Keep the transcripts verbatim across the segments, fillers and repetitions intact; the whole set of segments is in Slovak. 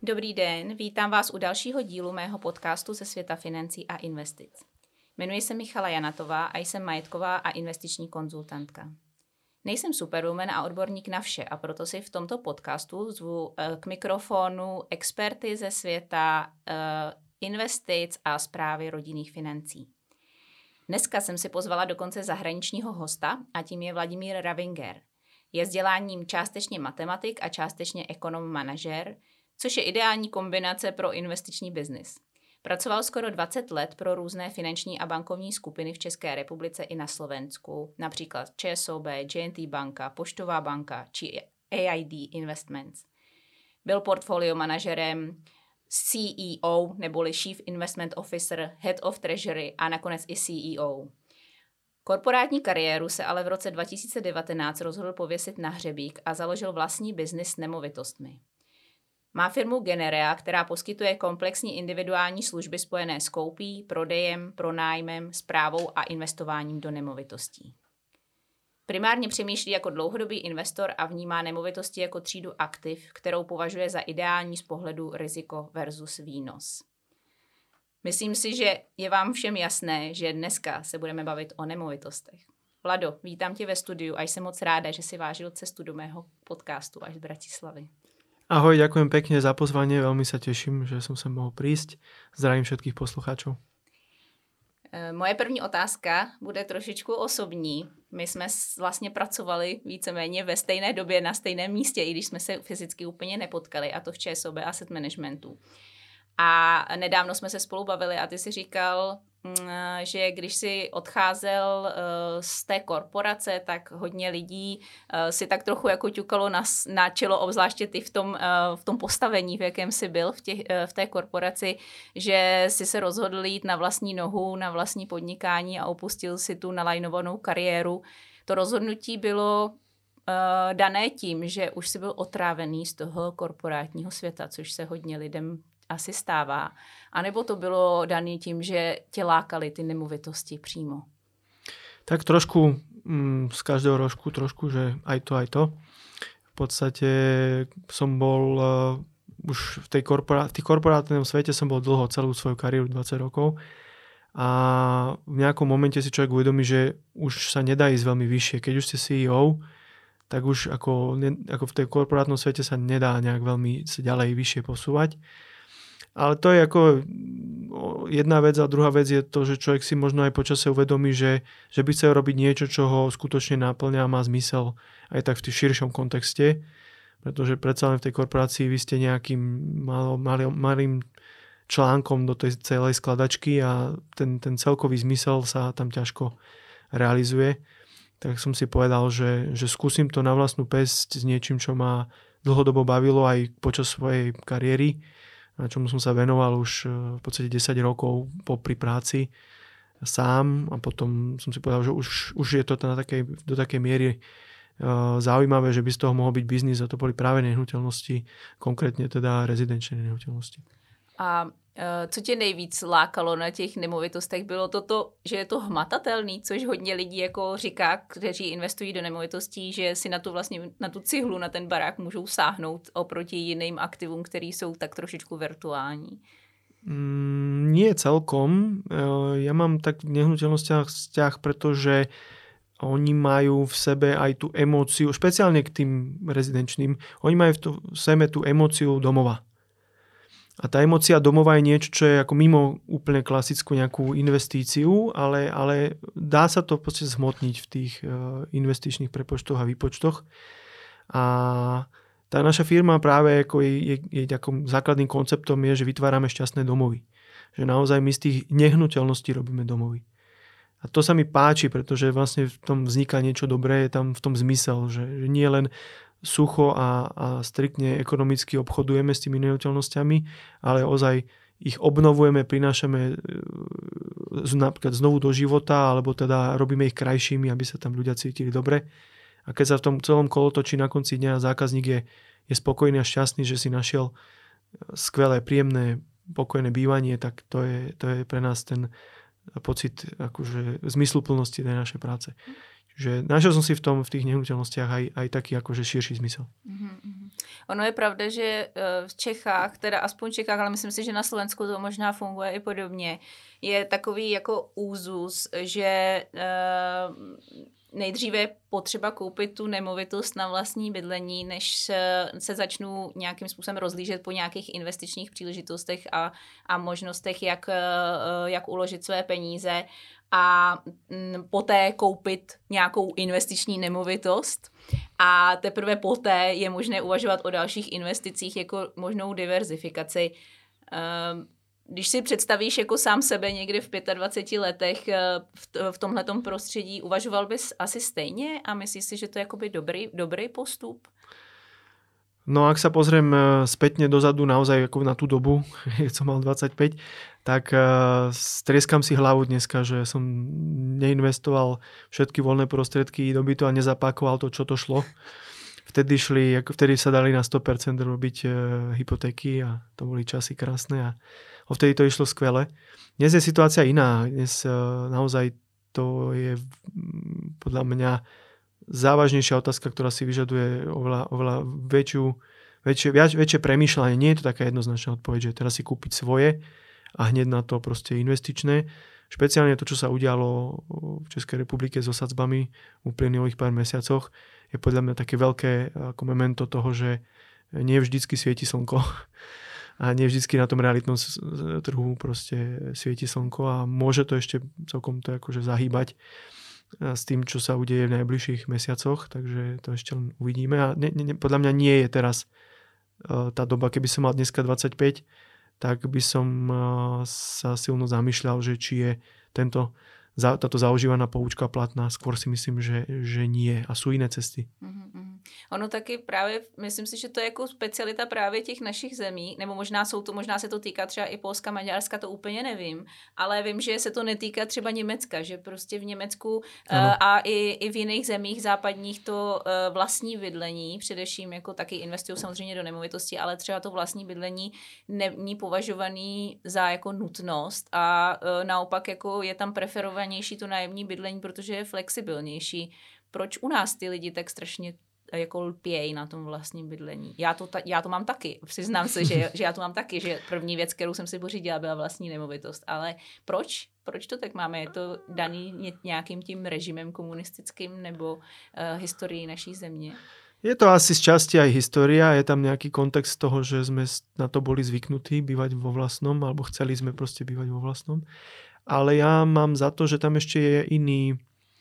Dobrý den, vítám vás u dalšího dílu mého podcastu ze světa financí a investic. Jmenuji se Michala Janatová a jsem majetková a investiční konzultantka. Nejsem superwoman a odborník na vše a proto si v tomto podcastu zvu k mikrofonu experty ze světa investic a správy rodinných financí. Dneska jsem si pozvala dokonce zahraničního hosta a tím je Vladimír Ravinger. Je vzděláním částečně matematik a částečně ekonom-manažer, což je ideální kombinace pro investiční biznis. Pracoval skoro dvacet let pro různé finanční a bankovní skupiny v České republice i na Slovensku, například ČSOB, J and T banka, Poštová banka či A I D Investments. Byl portfolio manažerem, C E O neboli Chief Investment Officer, Head of Treasury a nakonec i C E O. Korporátní kariéru se ale v roce dva tisíce devatenáct rozhodl pověsit na hřebík a založil vlastní biznis s nemovitostmi. Má firmu Generea, která poskytuje komplexní individuální služby spojené s koupí, prodejem, pronájmem, správou a investováním do nemovitostí. Primárně přemýšlí jako dlouhodobý investor a vnímá nemovitosti jako třídu aktiv, kterou považuje za ideální z pohledu riziko versus výnos. Myslím si, že je vám všem jasné, že dneska se budeme bavit o nemovitostech. Vlado, vítám tě ve studiu a jsem moc ráda, že si vážil cestu do mého podcastu až z Bratislavy. Ahoj, ďakujem pekne za pozvanie, veľmi sa teším, že som sem mohol prísť. Zdravím všetkých poslucháčov. Moje první otázka bude trošičku osobní. My jsme vlastně pracovali víceméně ve stejné době na stejném místě, i když jsme se fyzicky úplně nepotkali, a to v ČSOB Asset Managementu. A nedávno jsme se spolu bavili a ty si říkal, že když si odcházel z té korporace, tak hodně lidí si tak trochu jako ťukalo na, na čelo, obzvláště ty v tom, v tom postavení, v jakém jsi byl v, těch, v té korporaci, že si se rozhodl jít na vlastní nohu, na vlastní podnikání a opustil si tu nalajnovanou kariéru. To rozhodnutí bylo uh, dané tím, že už jsi byl otrávený z toho korporátního světa, což se hodně lidem asi stává. A nebo to bylo dané tím, že tě lákaly ty nemovitosti přímo? Tak trošku mm, z každého rožku, trošku, že aj to, aj to. V podstate som bol uh, už v tej korporá- v tých korporátnom svete som bol dlho, celú svoju kariéru, dvadsať rokov. A v nejakom momente si človek uvedomí, že už sa nedá ísť veľmi vyššie. Keď už ste C E O, tak už ako, ne, ako v tej korporátnom svete sa nedá nejak veľmi sa ďalej vyššie posúvať. Ale to je ako jedna vec a druhá vec je to, že človek si možno aj počase uvedomí, že, že by chcel robiť niečo, čo ho skutočne náplňa a má zmysel aj tak v tým širšom kontexte, pretože predsa len v tej korporácii vy ste nejakým malo, malým, malým článkom do tej celej skladačky a ten, ten celkový zmysel sa tam ťažko realizuje. Tak som si povedal, že, že skúsim to na vlastnú päsť s niečím, čo ma dlhodobo bavilo aj počas svojej kariéry, na čomu som sa venoval už v podstate desať rokov popri práci sám a potom som si povedal, že už, už je to na takej, do takej miery uh, zaujímavé, že by z toho mohol byť biznis a to boli práve nehnuteľnosti, konkrétne teda rezidenčné nehnuteľnosti. A co tě nejvíc lákalo na těch nemovitostech? Bylo to to, že je to hmatatelný, což hodně lidí jako říká, kteří investují do nemovitostí, že si na tu vlastně na tu cihlu, na ten barák můžou sáhnout oproti jiným aktivům, které jsou tak trošičku virtuální. Mm, nie celkom. Ja mám tak v nehnuteľnostiach vzťah, pretože oni majú v sebe aj tú emóciu, špeciálne k tým rezidenčným, oni majú v, to, v sebe tú emóciu domova. A tá emócia domova je niečo, čo je ako mimo úplne klasickú nejakú investíciu, ale, ale dá sa to v podstate zhmotniť v tých uh, investičných prepočtoch a výpočtoch. A tá naša firma práve ako je, je, je ako základným konceptom je, že vytvárame šťastné domovy. Že naozaj my z tých nehnuteľností robíme domovy. A to sa mi páči, pretože vlastne v tom vzniká niečo dobré, je tam v tom zmysel, že, že nie len sucho a, a striktne ekonomicky obchodujeme s tými nehnuteľnosťami, ale ozaj ich obnovujeme, prinášame napríklad znovu do života, alebo teda robíme ich krajšími, aby sa tam ľudia cítili dobre. A keď sa v tom celom kolotočí na konci dňa zákazník je, je spokojný a šťastný, že si našiel skvelé, príjemné, pokojné bývanie, tak to je, to je pre nás ten pocit akože zmysluplnosti tej našej práce. že našiel som si v tom, v tých nehnuteľnostiach aj, aj taký akože širší zmysel. Mm-hmm. Ono je pravda, že v Čechách, teda aspoň v Čechách, ale myslím si, že na Slovensku to možná funguje i podobně, je takový jako úzus, že uh, nejdříve je potřeba koupit tu nemovitost na vlastní bydlení, než se, se začnu nějakým způsobem rozlížet po nějakých investičních příležitostech a, a možnostech, jak, jak uložit své peníze a poté koupit nějakou investiční nemovitost. A teprve poté je možné uvažovat o dalších investicích jako možnou diverzifikaci. Když si představíš jako sám sebe někdy v dvaceti pěti letech v tomhletom prostředí, uvažoval bys asi stejně a myslíš si, že to je jakoby dobrý, dobrý postup? No ak sa pozriem spätne dozadu naozaj ako na tú dobu, keď som mal dvadsaťpäť, tak strieskam si hlavu dneska, že som neinvestoval všetky voľné prostriedky do bytu a nezapákoval to, čo to šlo. Vtedy šli, vtedy sa dali na sto percent robiť hypotéky a to boli časy krásne a vtedy to išlo skvele. Dnes je situácia iná. Dnes naozaj to je podľa mňa závažnejšia otázka, ktorá si vyžaduje oveľa, oveľa väčšiu, väčšie, väčšie premýšľanie. Nie je to taká jednoznačná odpoveď, že teraz si kúpiť svoje a hneď na to proste investičné. Špeciálne to, čo sa udialo v Českej republike so sadzbami v uplynulých pár mesiacoch, je podľa mňa také veľké ako memento toho, že nie vždycky svieti slnko a nie vždycky na tom realitnom trhu proste svieti slnko a môže to ešte celkom to akože zahýbať s tým, čo sa udeje v najbližších mesiacoch, takže to ešte len uvidíme. A ne, ne, podľa mňa nie je teraz uh, tá doba, keby som mal dneska dvadsaťpäť, tak by som uh, sa silno zamýšľal, že či je tento, za, táto zaužívaná poučka platná. Skôr si myslím, že, že nie. A sú iné cesty. Mm-hmm. Ono taky právě, myslím si, že to je jako specialita právě těch našich zemí, nebo možná jsou to, možná se to týká třeba i Polska, Maďarska, to úplně nevím, ale vím, že se to netýká třeba Německa, že prostě v Německu uh, a i, i v jiných zemích západních to uh, vlastní bydlení, především jako taky investují samozřejmě do nemovitosti, ale třeba to vlastní bydlení není považovaný za jako nutnost a uh, naopak jako je tam preferovanější to nájemní bydlení, protože je flexibilnější. Proč u nás ty lidi tak strašně jako lpějí na tom vlastním bydlení? Já to, ta, já to mám taky. Přiznám se, že, že já to mám taky, že první věc, kterou jsem si pořídila, byla vlastní nemovitost. Ale proč? Proč to tak máme? Je to daný nějakým tím režimem komunistickým nebo uh, historií naší země? Je to asi z časti aj história, je tam nejaký kontext toho, že sme na to boli zvyknutí bývať vo vlastnom, alebo chceli sme proste bývať vo vlastnom. Ale ja mám za to, že tam ešte je iný,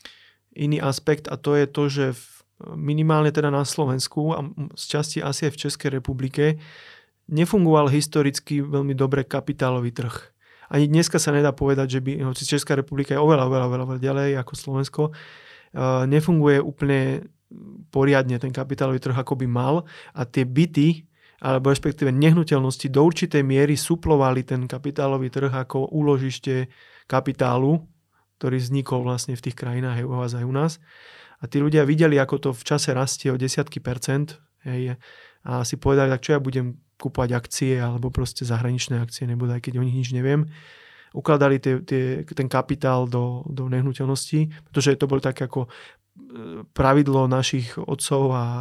iný aspekt a to je to, že v minimálne teda na Slovensku a z časti asi aj v Českej republike nefungoval historicky veľmi dobre kapitálový trh. Ani dneska sa nedá povedať, že by, hoci Česká republika je oveľa, oveľa, oveľa ďalej ako Slovensko, nefunguje úplne poriadne ten kapitálový trh, ako by mal a tie byty, alebo respektíve nehnuteľnosti do určitej miery suplovali ten kapitálový trh ako úložište kapitálu, ktorý vznikol vlastne v tých krajinách u vás aj u nás. A tí ľudia videli, ako to v čase rastie o desiatky percent. Hej, a si povedali, tak čo ja budem kúpať akcie alebo proste zahraničné akcie, nebude, aj keď o nich nič neviem. Ukladali tie, tie, ten kapitál do, do nehnuteľností, pretože to bolo tak ako pravidlo našich otcov a,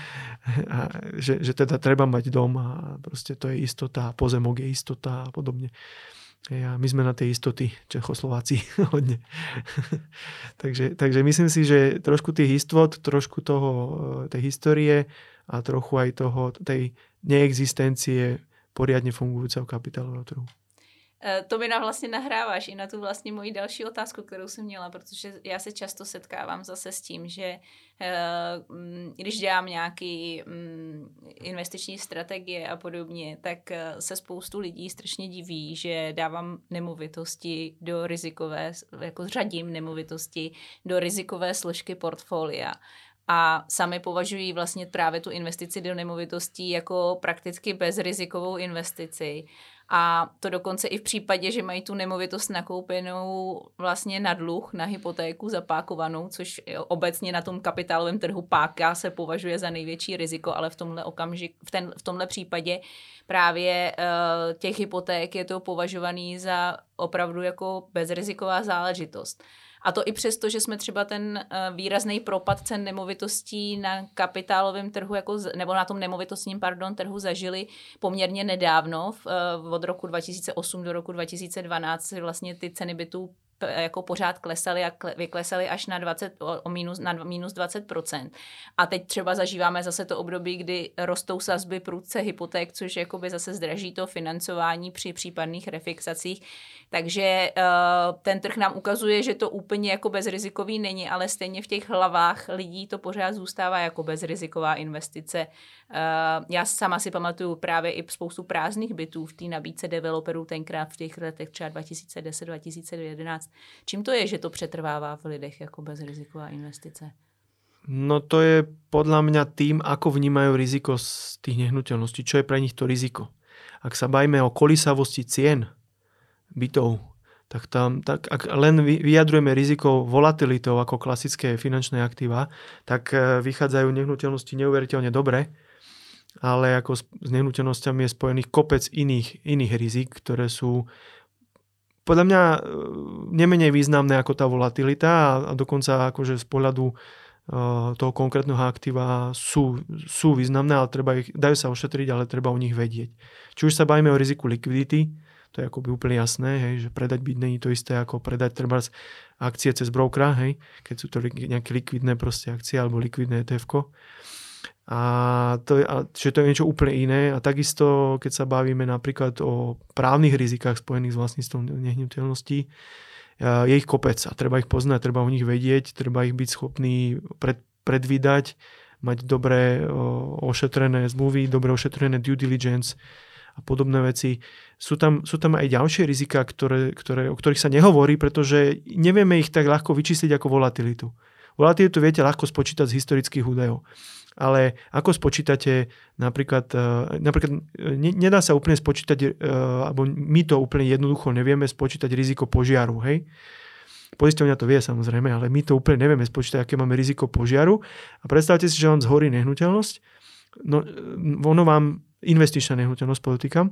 a že, že teda treba mať dom a proste to je istota, pozemok je istota a podobne. A my sme na tej istoty, Čechoslováci, hodne. takže, takže myslím si, že trošku tých istot, trošku toho, tej histórie a trochu aj toho, tej neexistencie poriadne fungujúceho kapitálového trhu. To mi na vlastně nahráváš i na tu vlastně moji další otázku, kterou jsem měla, protože já se často setkávám zase s tím, že když dělám nějaký investiční strategie a podobně, tak se spoustu lidí strašně diví, že dávám nemovitosti do rizikové, jako řadím nemovitosti do rizikové složky portfolia. A sami považují vlastně právě tu investici do nemovitostí jako prakticky bezrizikovou investici. A to dokonce i v případě, že mají tu nemovitost nakoupenou vlastně na dluh, na hypotéku zapákovanou, což obecně na tom kapitálovém trhu páka se považuje za největší riziko, ale v tomhle okamžik, v, ten, v tomhle případě právě uh, těch hypoték je to považovaný za opravdu jako bezriziková záležitost. A to i přesto, že jsme třeba ten výrazný propad cen nemovitostí na kapitálovém trhu, jako, nebo na tom nemovitostním, pardon, trhu zažili poměrně nedávno, od roku dva tisíce osm do roku dva tisíce dvanáct vlastně ty ceny bytů jako pořád klesaly a kle, vyklesaly až na, dvacet, o minus, na minus dvacet procent. A teď třeba zažíváme zase to období, kdy rostou sazby prudce hypoték, což jakoby zase zdraží to financování při případných refixacích. Takže uh, ten trh nám ukazuje, že to úplně jako bezrizikový není, ale stejně v těch hlavách lidí to pořád zůstává jako bezriziková investice. Uh, já sama si pamatuju právě i spoustu prázdných bytů v té nabídce developerů tenkrát v těch letech třeba dva tisíce deset dva tisíce jedenáct. Čím to je, že to přetrvává v lidech jako bezriziková investice? No to je podľa mňa tým, ako vnímajú riziko z tých nehnuteľností. Čo je pre nich to riziko? Ak sa bavíme o kolísavosti cien bytov, tak tam, tak ak len vyjadrujeme riziko volatilitou ako klasické finančné aktíva, tak vychádzajú nehnuteľnosti neuveriteľne dobre, ale ako s nehnuteľnosťami je spojených kopec iných, iných rizik, ktoré sú podľa mňa nemenej významné ako tá volatilita a, a dokonca akože z pohľadu uh, toho konkrétneho aktíva sú, sú významné, ale treba ich, dajú sa ošetriť, ale treba o nich vedieť. Či už sa bavíme o riziku likvidity, to je akoby úplne jasné, hej, že predať byt není to isté ako predať treba akcie cez brokera, hej, keď sú to nejaké likvidné proste akcie alebo likvidné é té efko. A to je, a, že to je niečo úplne iné a takisto, keď sa bavíme napríklad o právnych rizikách spojených s vlastníctvom nehnuteľností, je ich kopec a treba ich poznať, treba o nich vedieť, treba ich byť schopný pred, predvídať, mať dobre o, ošetrené zmluvy, dobre ošetrené due diligence a podobné veci. Sú tam, sú tam aj ďalšie rizika, ktoré, ktoré, o ktorých sa nehovorí, pretože nevieme ich tak ľahko vyčísliť ako volatilitu. Volatilitu viete ľahko spočítať z historických údajov. Ale ako spočítate napríklad, napríklad ne, nedá sa úplne spočítať, alebo my to úplne jednoducho nevieme spočítať riziko požiaru, hej? Poisťovňa to vie samozrejme, ale my to úplne nevieme spočítať, aké máme riziko požiaru. A predstavte si, že vám zhorí nehnuteľnosť, no ono vám, investičná nehnuteľnosť, podotýkam,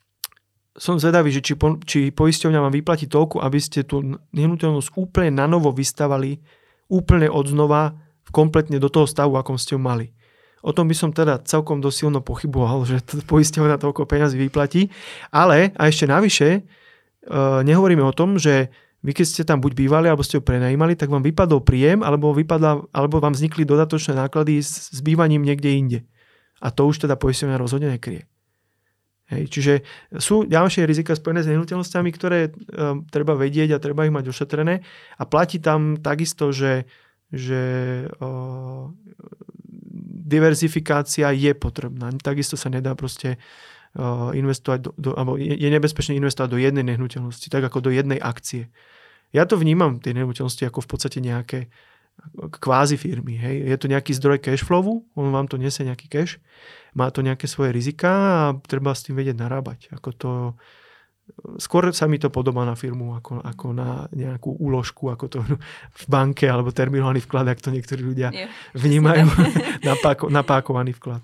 som zvedavý, že či, po, či poisťovňa vám vyplatí toľko, aby ste tú nehnuteľnosť úplne na novo vystavali, úplne od znova, kompletne do toho stavu, akom ste ho mali. O tom by som teda celkom dosilno pochyboval, že to poisťovňa toľko peňazí vyplatí. Ale, a ešte navyše, e, nehovoríme o tom, že vy keď ste tam buď bývali, alebo ste ho prenajímali, tak vám vypadol príjem, alebo, vypadla, alebo vám vznikli dodatočné náklady s, s bývaním niekde inde. A to už teda poisťovňa rozhodne nekryje. Hej, čiže sú ďalšie rizika spojené s nehnuteľnosťami, ktoré e, treba vedieť a treba ich mať ošetrené. A platí tam takisto, že že uh, diverzifikácia je potrebná. Takisto sa nedá proste uh, investovať do, do, alebo je, je nebezpečné investovať do jednej nehnuteľnosti, tak ako do jednej akcie. Ja to vnímam, tie nehnuteľnosti, ako v podstate nejaké kvázi firmy. Hej. Je to nejaký zdroj cashflowu, on vám to nesie nejaký cash, má to nejaké svoje rizika a treba s tým vedieť narábať. Ako to skôr sa mi to podobá na firmu ako, ako na nejakú úložku, ako to v banke alebo terminálny vklad, ak to niektorí ľudia je, vnímajú, napáko, napákovaný vklad.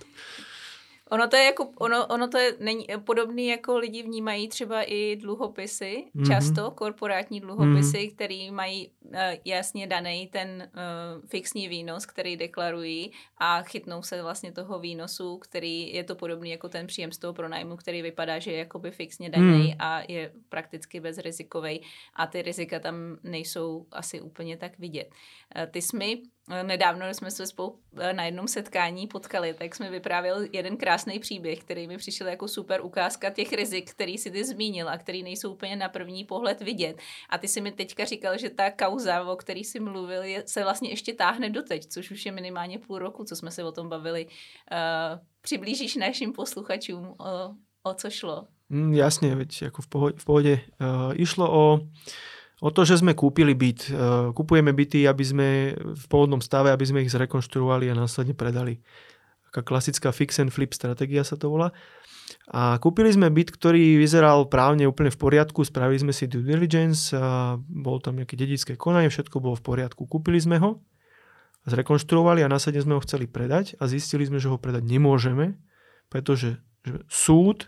Ono to je jako, ono, ono to je není, podobný, jako lidi vnímají třeba i dluhopisy, mm-hmm. často korporátní dluhopisy, mm-hmm. který mají uh, jasně daný ten uh, fixní výnos, který deklarují a chytnou se vlastně toho výnosu, který je to podobný jako ten příjem z toho pronájmu, který vypadá, že je jakoby fixně daný mm. a je prakticky bezrizikovej a ty rizika tam nejsou asi úplně tak vidět. Uh, ty jsi mi nedávno, když jsme se spolu na jednom setkání potkali, tak jsme vyprávěl jeden krásný příběh, který mi přišel jako super ukázka těch rizik, který si ty zmínil a který nejsou úplně na první pohled vidět. A ty si mi teďka říkal, že ta kauza, o který jsi mluvil, je, se vlastně ještě táhne doteď, což už je minimálně půl roku, co jsme se o tom bavili. Uh, přiblížíš našim posluchačům, o, o co šlo? Mm, jasne, veď ako v pohode. V pohode. Uh, išlo o O to, že sme kúpili byt. Kupujeme byty, aby sme v pôvodnom stave, aby sme ich zrekonštruovali a následne predali. Taká klasická fix and flip stratégia sa to volá. A kúpili sme byt, ktorý vyzeral právne úplne v poriadku. Spravili sme si due diligence, a bolo tam nejaké dedičské konanie, všetko bolo v poriadku. Kúpili sme ho, zrekonštruovali a následne sme ho chceli predať a zistili sme, že ho predať nemôžeme, pretože súd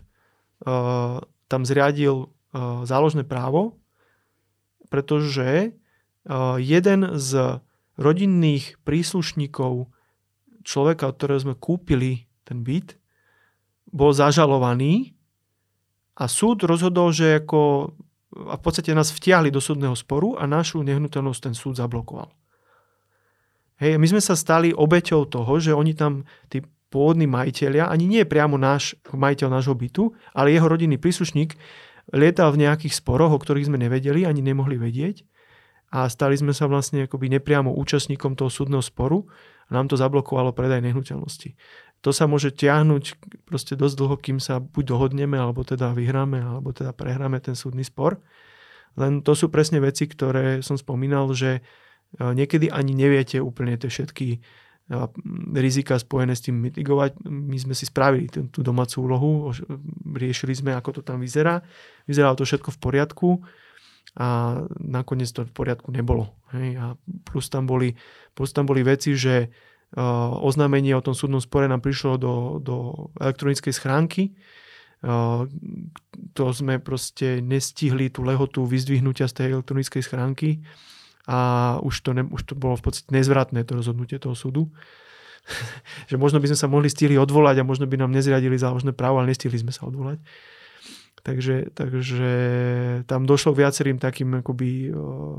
uh, tam zriadil uh, záložné právo, pretože jeden z rodinných príslušníkov človeka, od ktorého sme kúpili ten byt, bol zažalovaný a súd rozhodol, že ako, a v podstate nás vtiahli do súdneho sporu a našu nehnuteľnosť ten súd zablokoval. Hej, my sme sa stali obeťou toho, že oni tam, tí pôvodní majiteľia, ani nie priamo náš majiteľ nášho bytu, ale jeho rodinný príslušník lietal v nejakých sporoch, o ktorých sme nevedeli, ani nemohli vedieť. A stali sme sa vlastne akoby nepriamo účastníkom toho súdneho sporu a nám to zablokovalo predaj nehnuteľnosti. To sa môže tiahnuť proste dosť dlho, kým sa buď dohodneme, alebo teda vyhráme, alebo teda prehráme ten súdny spor. Len to sú presne veci, ktoré som spomínal, že niekedy ani neviete úplne tie všetky rizika spojené s tým mitigovať. My sme si spravili tú, tú domácu úlohu, riešili sme, ako to tam vyzerá. Vyzeralo to všetko v poriadku a nakoniec to v poriadku nebolo. Hej. A plus tam boli, plus tam boli veci, že uh, oznámenie o tom súdnom spore nám prišlo do, do elektronickej schránky. Uh, to sme proste nestihli tú lehotu vyzdvihnutia z tej elektronickej schránky. A už to, ne, už to bolo v podstate nezvratné to rozhodnutie toho súdu. Že možno by sme sa mohli stihli odvolať a možno by nám nezriadili záložné právo, ale nestihli sme sa odvolať. Takže, takže tam došlo k viacerým takým akoby uh,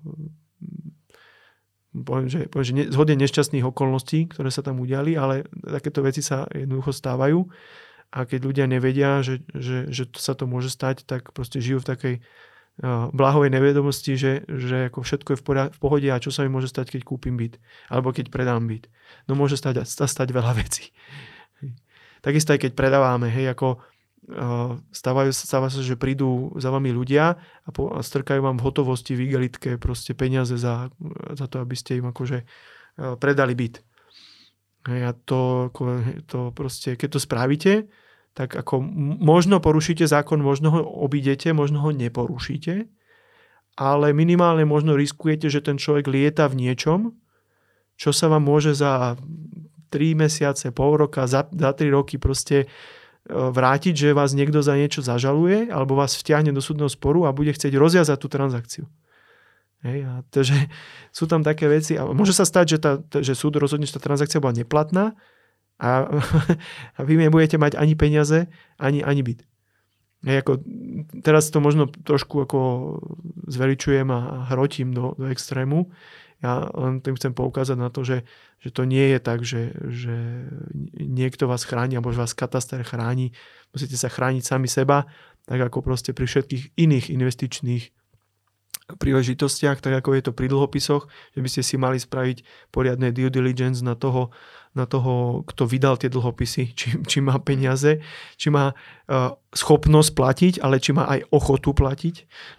poviem, že, poviem, že ne, zhodne nešťastných okolností, ktoré sa tam udiali, ale takéto veci sa jednoducho stávajú a keď ľudia nevedia, že, že, že sa to môže stať, tak proste žijú v takej blahovej nevedomosti, že, že ako všetko je v, poriad- v pohode a čo sa mi môže stať, keď kúpim byt alebo keď predám byt. No môže stať, stať veľa vecí. Takisto aj keď predávame, hej, ako uh, stávajú, stáva sa, že prídu za vami ľudia a, po, a strkajú vám v hotovosti, v igelitke proste peniaze za, za to, aby ste im akože uh, predali byt. Hej, a to, to proste, keď to spravíte, tak ako možno porušíte zákon, možno ho obídete, možno ho neporušíte, ale minimálne možno riskujete, že ten človek lieta v niečom, čo sa vám môže za tri mesiace, pol roka, za, za tri roky proste vrátiť, že vás niekto za niečo zažaluje alebo vás vtiahne do súdneho sporu a bude chcieť rozviazať tú transakciu. Hej, a to, že sú tam také veci a môže sa stať, že, tá, že súd rozhodne, že tá transakcia bola neplatná, A, a vy nebudete mať ani peniaze, ani, ani byt. Ja ako, teraz to možno trošku ako zveličujem a hrotím do, do extrému. Ja len tým chcem poukázať na to, že, že to nie je tak, že, že niekto vás chráni alebo že vás kataster chráni. Musíte sa chrániť sami seba, tak ako proste pri všetkých iných investičných príležitostiach, tak ako je to pri dlhopisoch, že by ste si mali spraviť poriadne due diligence na toho, na toho, kto vydal tie dlhopisy, či, či má peniaze, či má uh, schopnosť platiť, ale či má aj ochotu platiť.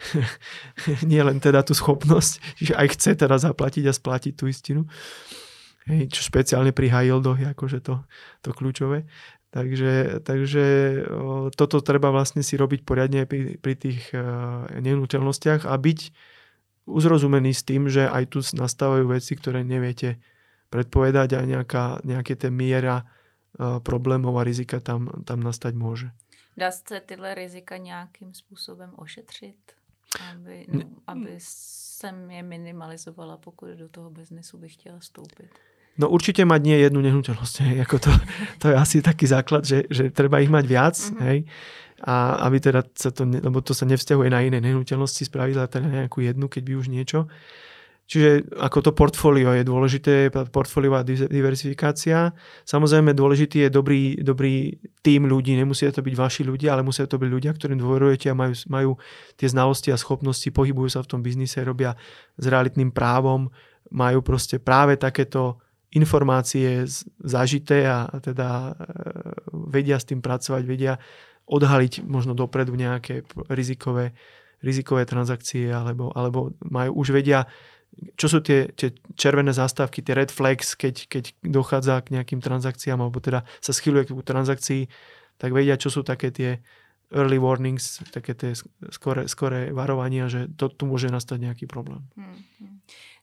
Nie len teda tú schopnosť, že aj chce teda zaplatiť a splatiť tú istinu. Hej, čo špeciálne pri high yieldoch je akože to, to kľúčové. Takže, takže o, toto treba vlastne si robiť poriadne pri, pri tých uh, nehnuteľnostiach a byť uzrozumený s tým, že aj tu nastávajú veci, ktoré neviete predpovedať a nejaká, nejaké té miera uh, problémov a rizika tam, tam nastať môže. Dá se tyhle rizika nějakým způsobem ošetřit, aby, no, aby jsem je minimalizovala, pokud do toho biznesu bych chtěla vstoupit? No určite mať nie jednu nehnuteľnosť. Hej. Ako to, to je asi taký základ, že, že treba ich mať viac. Mm-hmm. Hej. A aby teda sa to, lebo to sa nevzťahuje na iné nehnuteľnosti, spraviť teda nejakú jednu, keď by už niečo. Čiže ako to portfólio je dôležité, portfóliová diversifikácia. Samozrejme dôležitý je dobrý, dobrý tím ľudí. Nemusia to byť vaši ľudia, ale musia to byť ľudia, ktorým dôverujete a majú, majú tie znalosti a schopnosti, pohybujú sa v tom biznise, robia s realitným právom, majú proste práve takéto informácie zažité a teda vedia s tým pracovať, vedia odhaliť možno dopredu nejaké rizikové, rizikové transakcie alebo, alebo majú, už vedia, čo sú tie, tie červené zástavky, tie red flags, keď, keď dochádza k nejakým transakciám alebo teda sa schyluje k transakcii, tak vedia, čo sú také tie early warnings, také tie skore, skore varovania, že to, tu môže nastať nejaký problém. Hmm, hmm.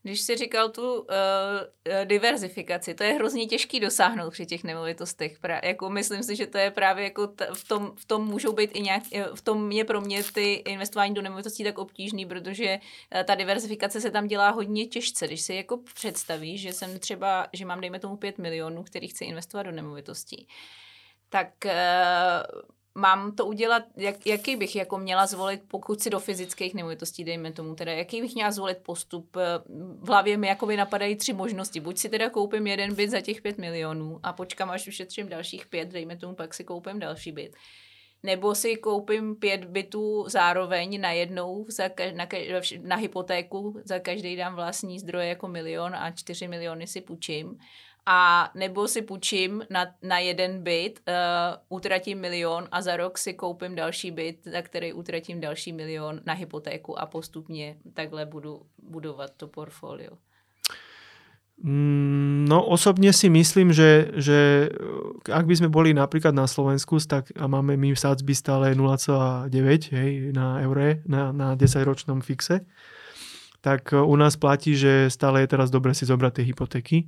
Když jsi říkal tu uh, diverzifikaci, to je hrozně těžký dosáhnout při těch nemovitostech. Pra, jako myslím si, že to je právě jako t- v, tom, v tom můžou být i nějak, v tom je pro mě ty investování do nemovitostí tak obtížný, protože uh, ta diverzifikace se tam dělá hodně těžce. Když si jako představíš, že jsem třeba, že mám dejme tomu pět milionů, který chci investovat do nemovitostí, tak uh, mám to udělat, jak, jaký bych jako měla zvolit, pokud si do fyzických nemovitostí, dejme tomu, teda jaký bych měla zvolit postup. V hlavě mi jakoby napadají tři možnosti. Buď si teda koupím jeden byt za těch pět milionů a počkám, až ušetřím dalších pět, dejme tomu, pak si koupím další byt. Nebo si koupím pět bytů zároveň najednou za ka- na, ka- na hypotéku, za každý dám vlastní zdroje jako milion a čtyři miliony si půjčím. A nebo si půjčím na, na jeden byt, uh, utratím milion a za rok si koupím další byt, za který utratím další milion na hypotéku a postupně takhle budu budovat to portfolio. No osobne si myslím, že, že ak by sme boli napríklad na Slovensku, tak a máme my sadzby stále nula celá deväť hej, na eure, na, na desaťročnom fixe, tak u nás platí, že stále je teraz dobre si zobrať tie hypotéky.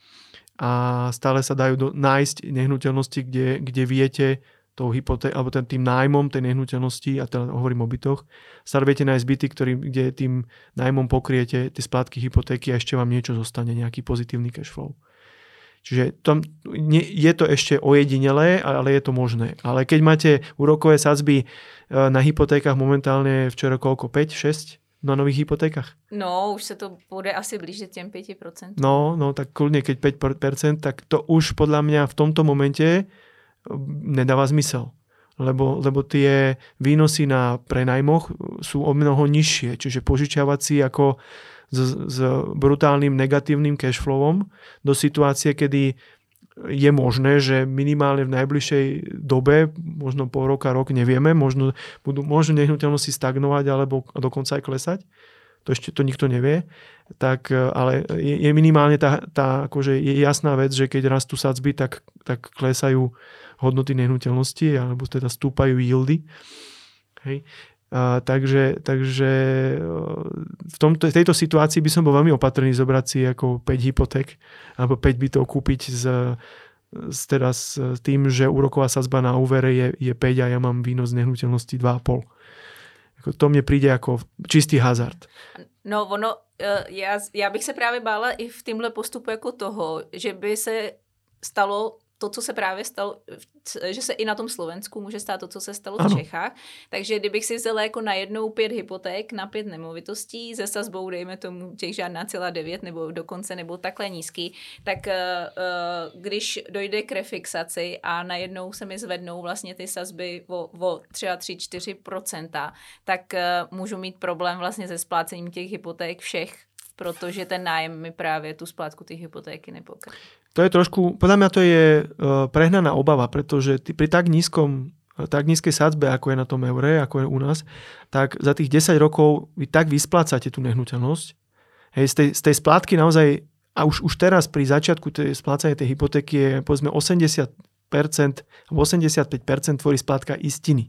A stále sa dajú do, nájsť nehnuteľnosti, kde, kde viete tou hypoté- alebo ten, tým nájmom tej nehnuteľnosti, a teda hovorím o bytoch, stále viete nájsť byty, ktorý, kde tým nájmom pokriete tie splátky hypotéky a ešte vám niečo zostane, nejaký pozitívny cash flow. Čiže tam, nie, je to ešte ojedinelé, ale je to možné. Ale keď máte úrokové sadzby na hypotékach momentálne včera koľko? päť šesť? Na nových hypotékach? No, už se to bude asi blížit těm pěti procentům. No, no, tak kľudne, keď päť percent, tak to už podľa mňa v tomto momente nedáva zmysel. Lebo, lebo tie výnosy na prenajmoch sú o mnoho nižšie. Čiže požičiavať si ako s, s brutálnym negatívnym cashflowom do situácie, kedy je možné, že minimálne v najbližšej dobe, možno pol roka, rok, nevieme, možno budú možno nehnuteľnosti stagnovať alebo dokonca aj klesať. To ešte to nikto nevie. Tak, ale je, je minimálne tá, tá akože je jasná vec, že keď rastú sadzby, tak, tak klesajú hodnoty nehnuteľnosti alebo teda stúpajú yieldy. Hej. A, takže takže v, tomto, v tejto situácii by som bol veľmi opatrný zobrať si ako päť hypoték alebo päť bytov kúpiť s, s, teda s tým, že úroková sadzba na úvere je, je päť a ja mám výnos nehnuteľnosti dva a pol. To mne príde ako čistý hazard. No ono, já, já bych se právě bála i v tomhle postupu jako toho, že by se stalo to, co se právě stalo, že se i na tom Slovensku může stát to, co se stalo ano. v Čechách. Takže kdybych si vzala jako najednou pět hypoték na pět nemovitostí ze sazbou, dejme tomu těch žádná celá devět nebo dokonce nebo takhle nízký, tak uh, když dojde k refixaci a najednou se mi zvednou vlastně ty sazby o, o třeba tři až čtyři procenta, tak uh, můžu mít problém vlastně se splácením těch hypoték všech, protože ten nájem mi právě tu splátku těch hypotéky nepokryje. To je trošku, podľa mňa to je uh, prehnaná obava, pretože ty, pri tak nízkom, tak nízkej sadzbe, ako je na tom eure, ako je u nás, tak za tých desať rokov vy tak vysplácate tú nehnuteľnosť. Hej, z tej, z tej splátky naozaj, a už, už teraz pri začiatku tej splácania tej hypotéky je povedzme osemdesiat percent alebo osemdesiatpäť percent tvorí splátka istiny.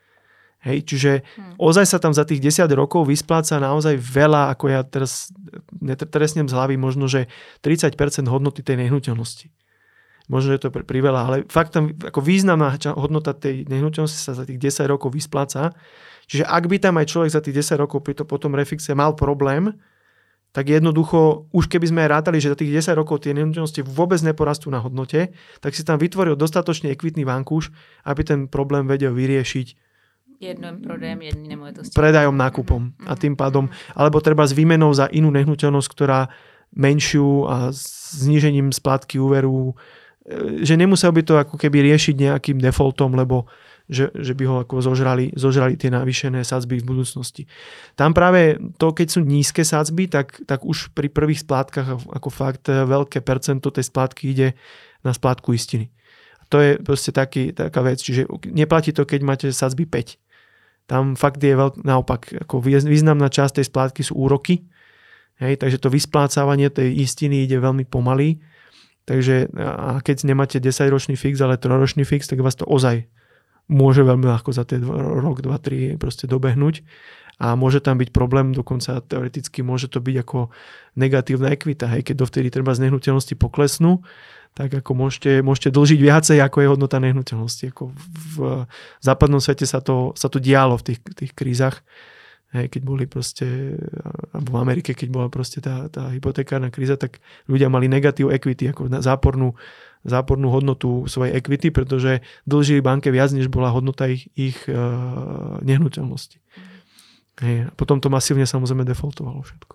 Hej, čiže hmm. ozaj sa tam za tých desať rokov vyspláca naozaj veľa, ako ja teraz netresnem z hlavy, možno, že tridsať percent hodnoty tej nehnuteľnosti. Možno, že je to priveľa, ale fakt tam ako významná hodnota tej nehnuteľnosti sa za tých desať rokov vyspláca. Čiže ak by tam aj človek za tých desať rokov pri to potom refixe mal problém, tak jednoducho, už keby sme aj rátali, že za tých desať rokov tie nehnuteľnosti vôbec neporastú na hodnote, tak si tam vytvoril dostatočne ekvitný vankúš, aby ten problém vedel vyriešiť jedným prodejem jednej nemovitosti. Predajom, nákupom. Mm-hmm. A tým pádom, alebo treba s výmenou za inú nehnuteľnosť, ktorá menšiu a znížením splátky úveru, že nemusel by to ako keby riešiť nejakým defaultom, lebo že, že by ho ako zožrali, zožrali tie navýšené sadzby v budúcnosti. Tam práve to, keď sú nízke sadzby, tak, tak už pri prvých splátkach ako fakt veľké percento tej splátky ide na splátku istiny. To je proste taký, taká vec. Čiže neplatí to, keď máte sadzby päť. Tam fakt je veľk, naopak, ako významná časť tej splátky sú úroky. Hej, takže to vysplácávanie tej istiny ide veľmi pomaly. Takže a keď nemáte desaťročný fix, ale trojročný fix, tak vás to ozaj môže veľmi ľahko za ten rok, dva, tri proste dobehnúť. a môže tam byť problém, dokonca teoreticky môže to byť ako negatívna ekvita. Hej, keď dovtedy treba z nehnuteľnosti poklesnú, tak ako môžete, môžete dlžiť viacej, ako je hodnota nehnuteľnosti. Ako v západnom svete sa to, sa to dialo v tých, tých krízach. Hej, keď boli proste, alebo v Amerike, keď bola proste tá, tá hypotekárna kríza, tak ľudia mali negatív equity, ako zápornú, zápornú hodnotu svojej equity, pretože dlžili banke viac, než bola hodnota ich, ich uh, nehnuteľnosti. Hej, a potom to masívne samozrejme defaultovalo všetko.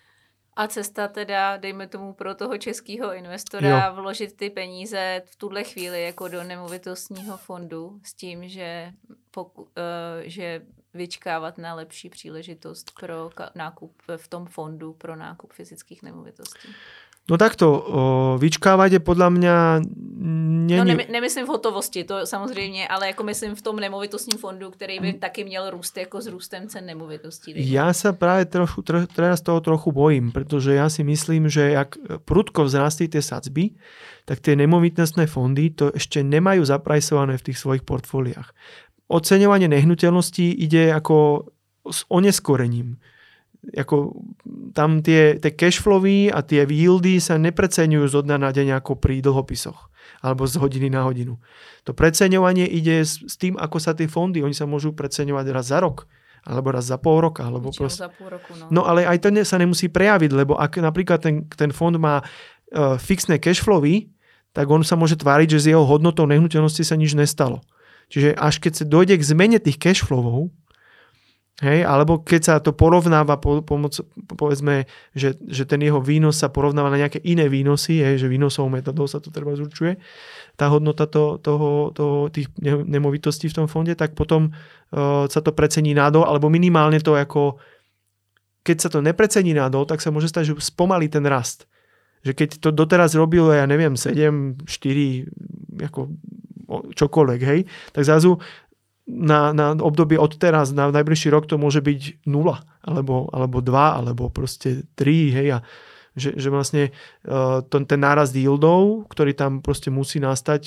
A cesta teda, dejme tomu, pro toho českého investora jo. vložit ty peníze v tuhle chvíli jako do nemovitostního fondu s tím, že, poku, uh, že vyčkávat na lepší příležitost pro nákup v tom fondu pro nákup fyzických nemovitostí. No takto, o, vyčkávať je podľa mňa... Nie, no ne, nemyslím v hotovosti, to samozřejmě, ale jako myslím v tom nemovitostním fondu, který by taky měl růst jako s růstem cen nemovitostí. Ja sa práve trochu, tro, teraz toho trochu bojím, pretože ja si myslím, že jak prudko vzrastli tie sadzby, tak tie nemovitostné fondy to ešte nemajú zaprajsované v tých svojich portfóliách. Oceňovanie nehnuteľností ide ako s oneskorením. Ako tam tie, tie cashflowy a tie yieldy sa nepreceňujú zo dňa na deň ako pri dlhopisoch alebo z hodiny na hodinu. To preceňovanie ide s, s tým, ako sa tie fondy, oni sa môžu preceňovať raz za rok alebo raz za pol roka. Alebo proste... za pol roku, no. no ale aj to ne, sa nemusí prejaviť, lebo ak napríklad ten, ten fond má uh, fixné cashflowy, tak on sa môže tváriť, že s jeho hodnotou nehnuteľnosti sa nič nestalo. Čiže až keď sa dojde k zmene tých cashflowov, hej, alebo keď sa to porovnáva po, pomoc, povedzme, že, že ten jeho výnos sa porovnáva na nejaké iné výnosy, hej, že výnosovou metodou sa to treba zurčuje, tá hodnota to, toho, toho, tých nemovitostí v tom fonde, tak potom uh, sa to precení nádol, alebo minimálne to ako, keď sa to neprecení nádol, tak sa môže stať, že spomalí ten rast. Že keď to doteraz robilo, ja neviem, sedem, štyri, ako čokoľvek, hej, tak zrazu Na, na obdobie od teraz, na najbližší rok to môže byť nula, alebo, alebo dva, alebo proste tri, hej, a že, že vlastne uh, ten, ten nárast yieldov, ktorý tam proste musí nastať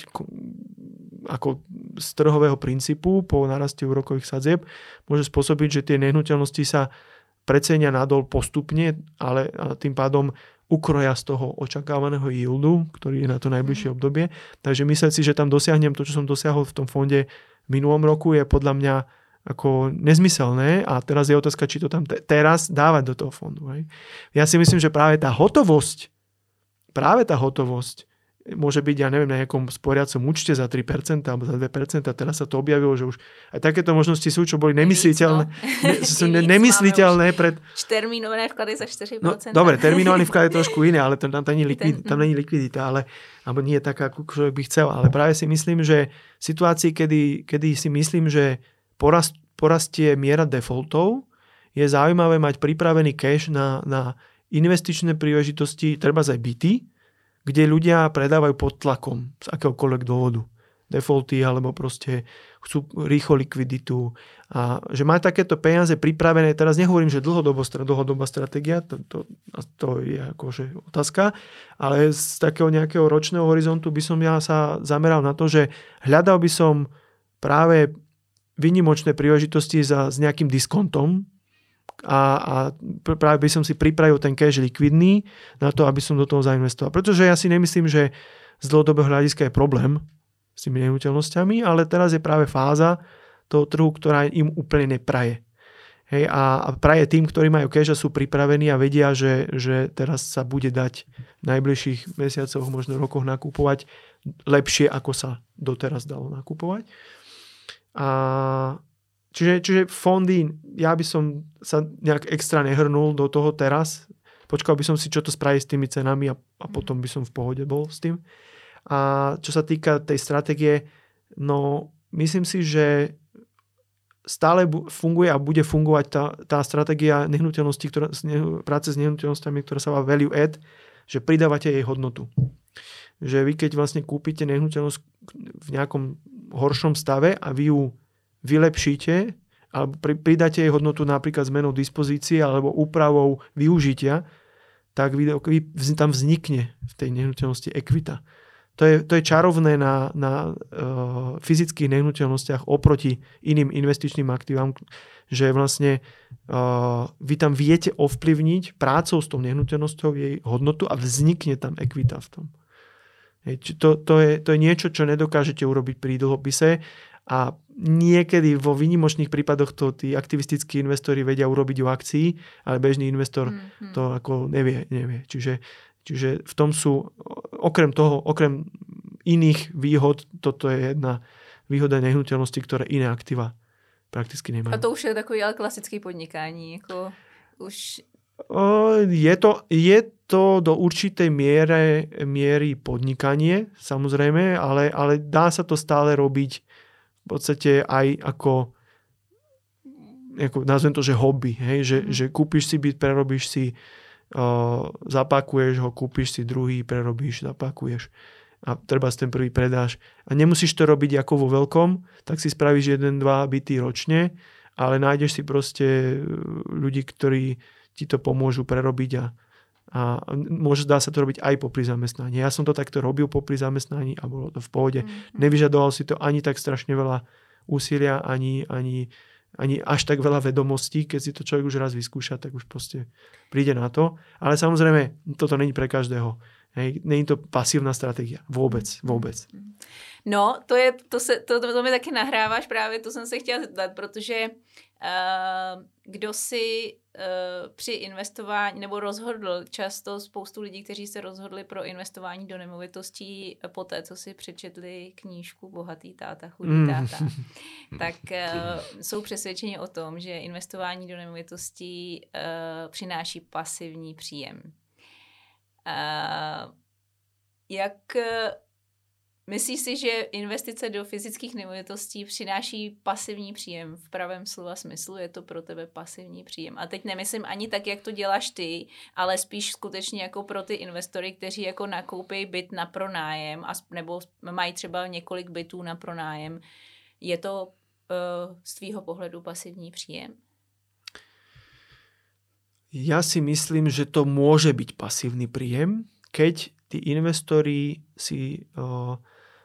ako z trhového princípu po náraste úrokových sadzieb, môže spôsobiť, že tie nehnuteľnosti sa precenia nadol postupne, ale tým pádom ukroja z toho očakávaného yieldu, ktorý je na to najbližšie obdobie. Takže myslím si, že tam dosiahnem to, čo som dosiahol v tom fonde v minulom roku, je podľa mňa ako nezmyselné a teraz je otázka, či to tam te- teraz dávať do toho fondu. Hej. Ja si myslím, že práve tá hotovosť, práve tá hotovosť môže byť, ja neviem, na nejakom sporiacom účte za tri percentá alebo za dve percentá. Teraz sa to objavilo, že už aj takéto možnosti sú, čo boli nemysliteľné. Ne, sú ne, nemysliteľné pred... Termínované vklady za štyri percentá. No, dobre, termínovaný vklad je trošku iné, ale tam, tam, není, likvid, tam není likvidita, ale alebo nie je taká, ako človek by chcel. Ale práve si myslím, že v situácii, kedy, kedy si myslím, že porast, porastie miera defaultov, je zaujímavé mať pripravený cash na, na investičné príležitosti, treba aj byty, kde ľudia predávajú pod tlakom z akéhokoľvek dôvodu. Defaulty alebo proste chcú rýchlo likviditu. A že má takéto peniaze pripravené, teraz nehovorím, že dlhodobá, dlhodobá stratégia, to, to, to je akože otázka, ale z takého nejakého ročného horizontu by som ja sa zameral na to, že hľadal by som práve výnimočné príležitosti za, s nejakým diskontom, a, a práve by som si pripravil ten cash likvidný na to, aby som do toho zainvestoval. Pretože ja si nemyslím, že z dlhodobého hľadiska je problém s tými nehnuteľnosťami, ale teraz je práve fáza toho trhu, ktorá im úplne nepraje. Hej, a, a praje tým, ktorí majú cash a sú pripravení a vedia, že, že teraz sa bude dať v najbližších mesiacoch, možno rokoch nakupovať lepšie, ako sa doteraz dalo nakupovať. A Čiže, čiže fondy, ja by som sa nejak extra nehrnul do toho teraz. Počkal by som si, čo to spraví s tými cenami a, a potom by som v pohode bol s tým. A čo sa týka tej stratégie, no myslím si, že stále funguje a bude fungovať tá, tá stratégia nehnuteľnosti, ktorá, práce s nehnuteľnosťami, ktorá sa volá value add, že pridávate jej hodnotu. Že vy keď vlastne kúpite nehnuteľnosť v nejakom horšom stave a vy ju vylepšíte alebo pridáte jej hodnotu napríklad zmenou dispozície alebo úpravou využitia, tak tam vznikne v tej nehnuteľnosti ekvita. to je, to je čarovné na, na uh, fyzických nehnuteľnostiach oproti iným investičným aktívam, že vlastne uh, vy tam viete ovplyvniť prácou s tou nehnuteľnosťou jej hodnotu a vznikne tam ekvita v tom. Hej, to, to, je, to je niečo, čo nedokážete urobiť pri dlhopise a niekedy vo výnimočných prípadoch to tí aktivistickí investori vedia urobiť u akcií, ale bežný investor mm-hmm. to ako nevie. nevie. Čiže, čiže v tom sú, okrem toho, okrem iných výhod, toto je jedna výhoda nehnuteľnosti, ktoré iné aktíva prakticky nemajú. A to už je takový ale klasický podnikání. Jako už... Je to, je to do určitej miere, miery podnikanie, samozrejme, ale, ale dá sa to stále robiť v podstate aj ako, ako nazvem to, že hobby. Hej? Že, mm. že kúpiš si byt, prerobíš si, uh, zapakuješ ho, kúpiš si druhý, prerobíš, zapakuješ a treba si ten prvý predáš. A nemusíš to robiť ako vo veľkom, tak si spravíš jeden, dva byty ročne, ale nájdeš si proste ľudí, ktorí ti to pomôžu prerobiť a, a môže dá sa to robiť aj popri zamestnaní. Ja som to takto robil popri zamestnaní a bolo to v pohode. Mm-hmm. Nevyžadovalo si to ani tak strašne veľa úsilia, ani, ani, ani až tak veľa vedomostí. Keď si to človek už raz vyskúša, tak už proste príde na to. Ale samozrejme, toto není pre každého. Hej, není to pasívna stratégia. Vôbec, vôbec. No, to, je, to, se, to, to, to mi taky nahráváš právě, to jsem se chtěla zeptat, protože uh, kdo si uh, při investování, nebo rozhodl často spoustu lidí, kteří se rozhodli pro investování do nemovitostí po té, co si přečetli knížku Bohatý táta, chudý mm. táta, tak uh, jsou přesvědčeni o tom, že investování do nemovitostí uh, přináší pasivní příjem. Uh, jak myslíš si, že investice do fyzických nemovitostí přináší pasivní příjem v pravém slova smyslu? Je to pro tebe pasivní příjem? A teď nemyslím ani tak, jak to děláš ty, ale spíš skutečně jako pro ty investory, kteří jako nakoupí byt na pronájem a, nebo mají třeba několik bytů na pronájem. Je to uh, z tvýho pohledu pasivní příjem? Ja si myslím, že to môže byť pasívny príjem, keď tí investori si uh,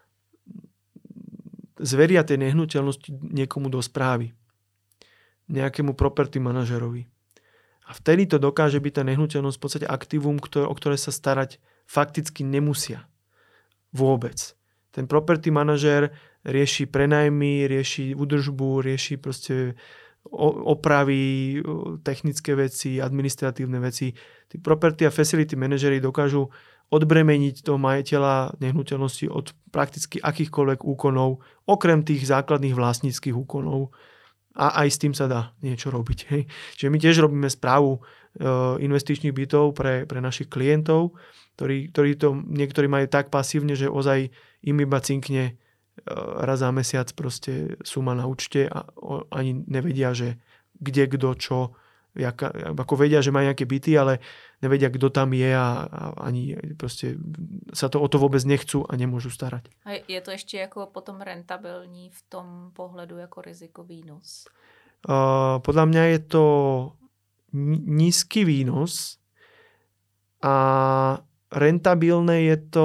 zveria tie nehnuteľnosti niekomu do správy. Nejakému property manažerovi. A vtedy to dokáže byť tá nehnuteľnosť v podstate aktívum, ktoré, o ktoré sa starať fakticky nemusia. Vôbec. Ten property manažer rieši prenajmy, rieši údržbu, rieši proste opravy, technické veci, administratívne veci. Tí property a facility manažeri dokážu odbremeniť toho majiteľa nehnuteľnosti od prakticky akýchkoľvek úkonov, okrem tých základných vlastníckych úkonov. A aj s tým sa dá niečo robiť. Hej. Čiže my tiež robíme správu e, investičných bytov pre, pre našich klientov, ktorí, ktorí to niektorí majú tak pasívne, že ozaj im iba cinkne raz za mesiac proste suma na účte a ani nevedia, že kde, kto, čo, jaka, ako vedia, že majú nejaké byty, ale nevedia, kto tam je a, a ani proste sa to o to vôbec nechcú a nemôžu starať. A je to ešte ako potom rentabilní v tom pohľadu ako rizikový výnos? Uh, podľa mňa je to nízky výnos a rentabilné je to